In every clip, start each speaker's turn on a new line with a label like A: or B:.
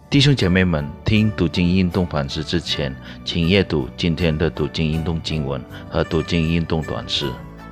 A: 弟兄姐妹们，听读经运动反思之前，请阅读今天的读经运动经文和读经运动短诗。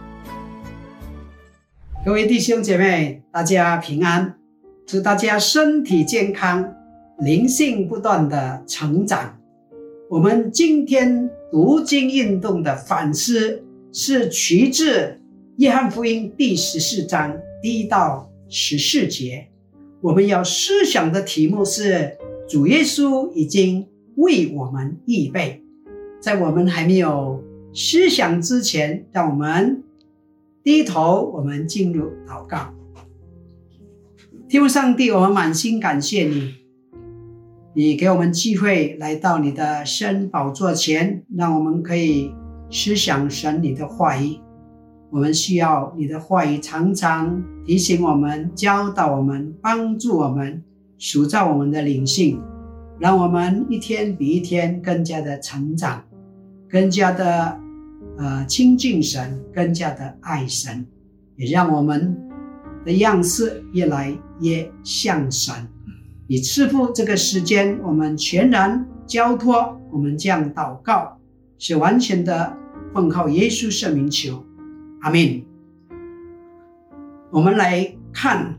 B: 各位弟兄姐妹，大家平安，祝大家身体健康，灵性不断的成长。我们今天读经运动的反思是取自约翰福音第14章1到14节。我们要思想的题目是主耶稣已经为我们预备。在我们还没有思想之前，让我们低头，我们进入祷告。天父上帝，我们满心感谢你，你给我们机会来到你的圣宝座前，让我们可以思想神你的话语。我们需要你的话语常常提醒我们，教导我们，帮助我们，塑造我们的灵性，让我们一天比一天更加的成长，更加的亲近神，更加的爱神，也让我们的样式越来越像神。你赐福这个时间，我们全然交托，我们这样祷告，是完全的奉靠耶稣圣名求，阿们。我们来看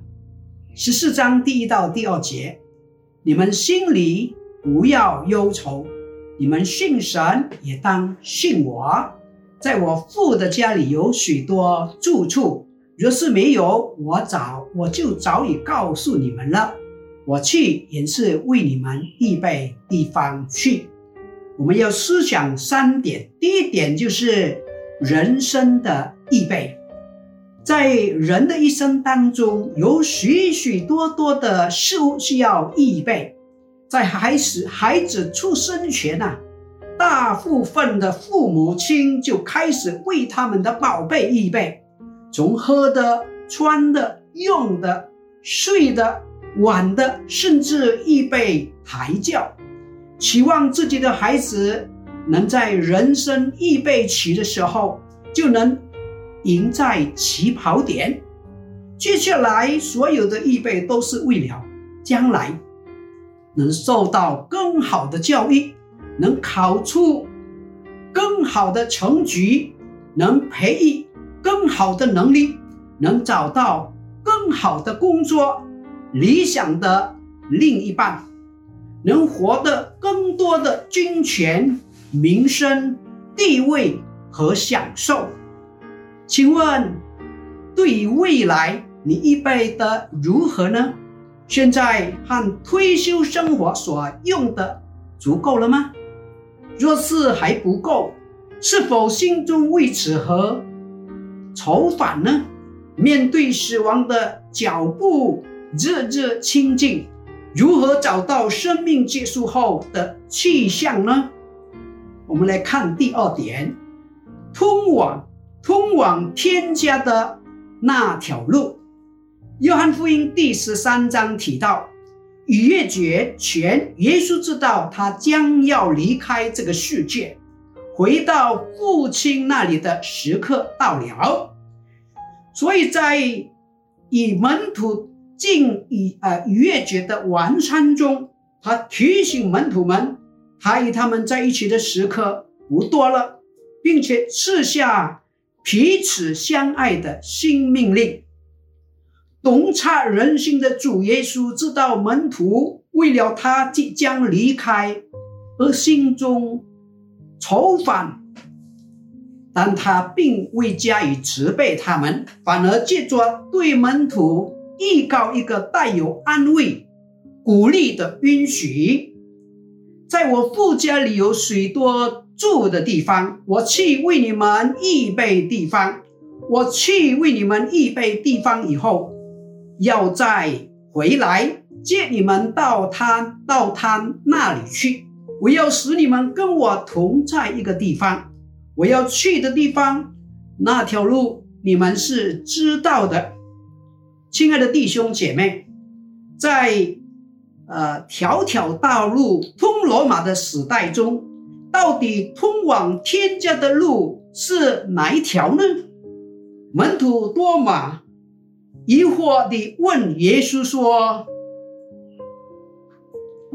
B: 14章第1到第2节。你们心里不要忧愁，你们信神也当信我。在我父的家里有许多住处，若是没有，我就早已告诉你们了。我去也是为你们预备地方去。我们要思想3点。第一点就是人生的预备。在人的一生当中，有许许多多的事物需要预备。在孩子出生前大部分的父母亲就开始为他们的宝贝预备，从喝的、穿的、用的、睡的、玩的，甚至预备胎教，期望自己的孩子能在人生预备期的时候就能赢在起跑点。接下来所有的预备都是为了将来能受到更好的教育，能考出更好的成绩，能培育更好的能力，能找到更好的工作，理想的另一半，能获得更多的金钱、名声、地位和享受。请问，对于未来你预备的如何呢？现在和退休生活所用的足够了吗？若是还不够，是否心中为此和愁烦呢？面对死亡的脚步日日亲近，如何找到生命结束后的去向呢？我们来看第2点，通往天家的那条路。约翰福音第13章提到，逾越节前，耶稣知道他将要离开这个世界，回到父亲那里的时刻到了。所以在与门徒进逾越节的晚餐中，他提醒门徒们，他与他们在一起的时刻不多了，并且赐下彼此相爱的新命令。洞察人心的主耶稣知道门徒为了他即将离开而心中愁烦，但他并未加以责备他们，反而借着对门徒预告一个带有安慰、鼓励的允许。在我父家里有许多住的地方，我去为你们预备地方。我去为你们预备地方以后，要再回来接你们到他那里去。我要使你们跟我同在一个地方，我要去的地方，那条路你们是知道的。亲爱的弟兄姐妹，在条条道路通罗马的时代中，到底通往天家的路是哪一条呢？门徒多马疑惑地问耶稣说，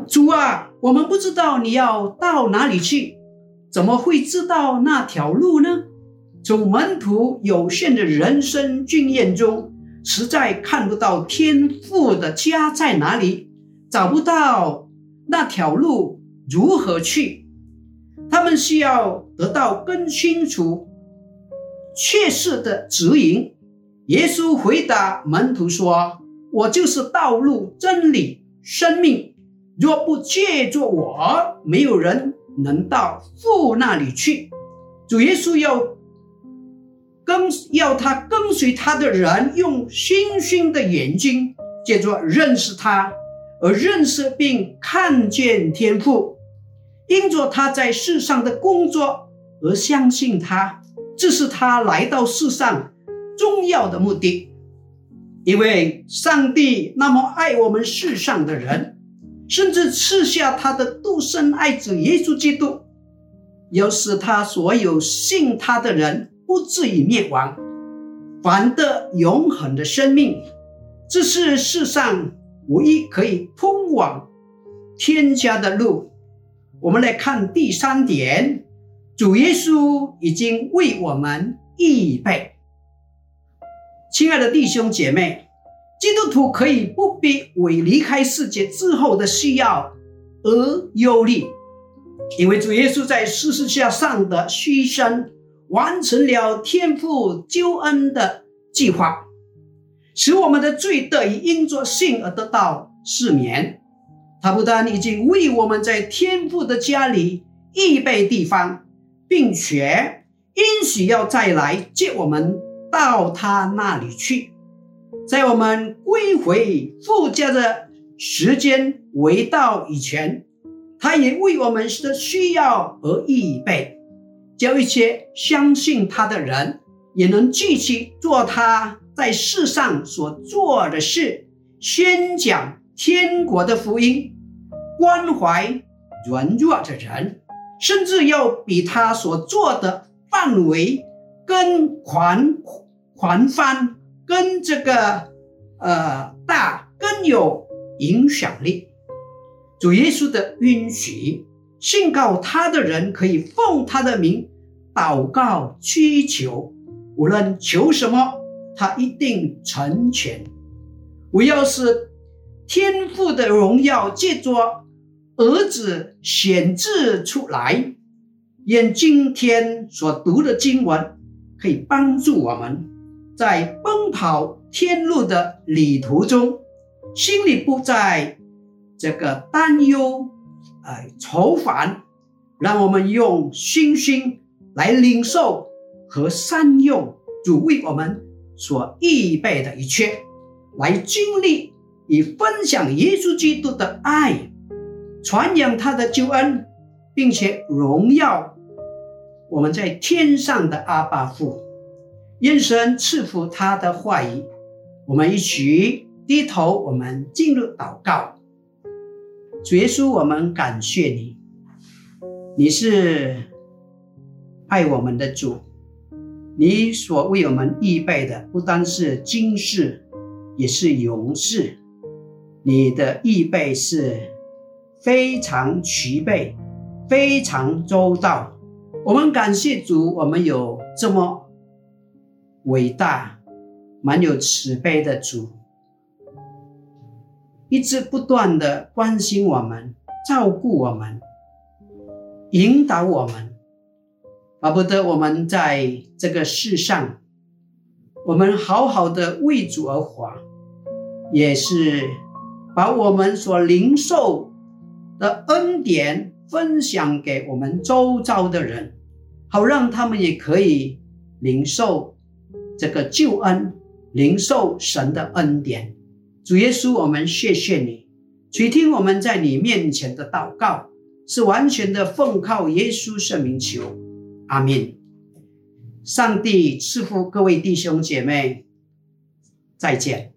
B: 主啊，我们不知道你要到哪里去，怎么会知道那条路呢？从门徒有限的人生经验中，实在看不到天父的家在哪里，找不到那条路如何去。他们需要得到更清楚确实的指引。耶稣回答门徒说，我就是道路、真理、生命，若不借着我，没有人能到父那里去。主耶稣要他跟随他的人用星星的眼睛，借着认识他而认识并看见天父，因着他在世上的工作而相信他，这是他来到世上重要的目的。因为上帝那么爱我们世上的人，甚至赐下他的独生爱子耶稣基督，要使他所有信他的人不至于灭亡，反得永恒的生命。这是世上唯一可以通往天家的路。我们来看第3点，主耶稣已经为我们预备。亲爱的弟兄姐妹，基督徒可以不必为离开世界之后的需要而忧虑，因为主耶稣在十字架上的牺牲完成了天父救恩的计划，使我们的罪得以因着信而得到赦免。他不但已经为我们在天父的家里预备地方，并且应许要再来接我们到他那里去。在我们归回父家的时间未到以前，他也为我们的需要而预备，叫一切相信他的人也能继续做他在世上所做的事，宣讲天国的福音，关怀软弱的人，甚至要比他所做的范围更宽泛，跟大，更有影响力。主耶稣的允许，信靠他的人可以奉他的名祷告祈求，无论求什么，他一定成全。我要是天父的荣耀借着儿子显示出来，愿今天所读的经文可以帮助我们在奔跑天路的旅途中，心里不再担忧愁烦，让我们用信心来领受和善用主为我们所预备的一切，来经历与分享耶稣基督的爱，传扬他的救恩，并且荣耀我们在天上的阿爸父。愿神赐福他的话语。我们一起低头，我们进入祷告。主耶稣，我们感谢你，你是爱我们的主，你所为我们预备的不单是今世，也是永世。你的预备是非常齐备，非常周到。我们感谢主，我们有这么伟大满有慈悲的主，一直不断的关心我们，照顾我们，引导我们，巴不得我们在这个世上，我们好好的为主而活，也是把我们所领受的恩典分享给我们周遭的人，好让他们也可以领受这个救恩，领受神的恩典。主耶稣，我们谢谢你，垂听我们在你面前的祷告，是完全的奉靠耶稣圣名求，阿们。上帝赐福各位弟兄姐妹，再见。